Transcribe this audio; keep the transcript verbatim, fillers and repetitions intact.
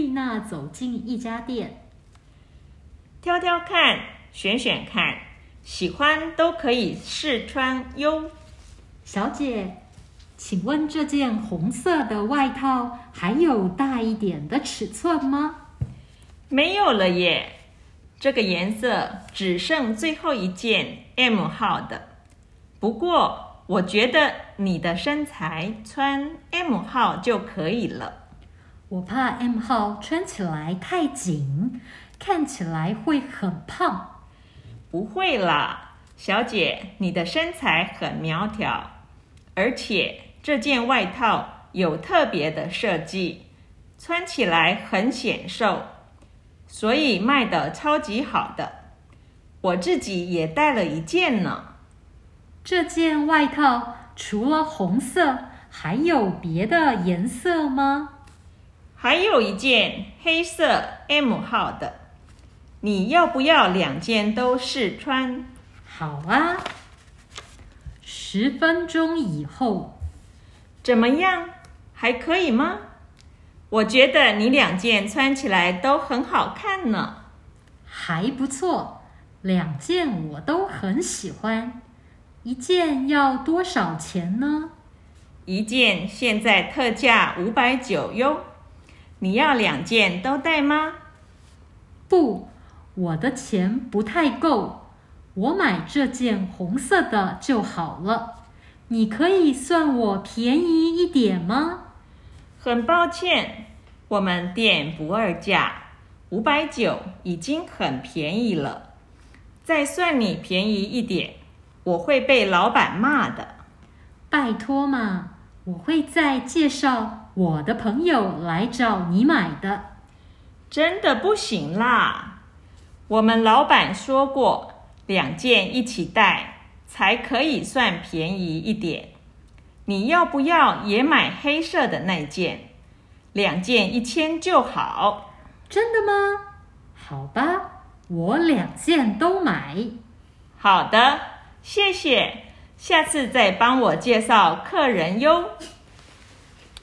丽娜走进一家店， 挑挑看，选选看，喜欢都可以试穿哟。 小姐，请问这件红色的外套还有大一点的尺寸吗？ 没有了耶，这个颜色只剩最后一件 M 号的。不过我觉得你的身材穿 M 号就可以了。 我怕 M 号穿起来太紧，看起来会很胖。 不会啦，小姐，你的身材很苗条，而且这件外套有特别的设计，穿起来很显瘦，所以卖得超级好的。我自己也带了一件呢。 这件外套除了红色，还有别的颜色吗？ 还有一件黑色 M 号的，你要不要两件都试穿？ 好啊。十分钟以后， 怎么样？还可以吗？我觉得你两件穿起来都很好看呢。 还不错，两件我都很喜欢。一件要多少钱呢？ 一件现在特价五百九十哟。你要两件都带吗？ 不，我的钱不太够，我买这件红色的就好了。你可以算我便宜一点吗？ 很抱歉，我们店不二价，五百九已经很便宜了。再算你便宜一点，我会被老板骂的。 拜托嘛，我会再介绍我的朋友来找你买的。 真的不行啦，我们老板说过，两件一起带才可以算便宜一点。你要不要也买黑色的那件？两件一千就好。 真的吗？好吧，我两件都买。 好的，谢谢，下次再帮我介绍客人哟。